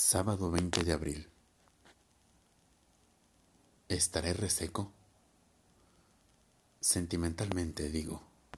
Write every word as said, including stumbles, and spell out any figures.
Sábado veinte de abril. ¿Estaré reseco? Sentimentalmente digo.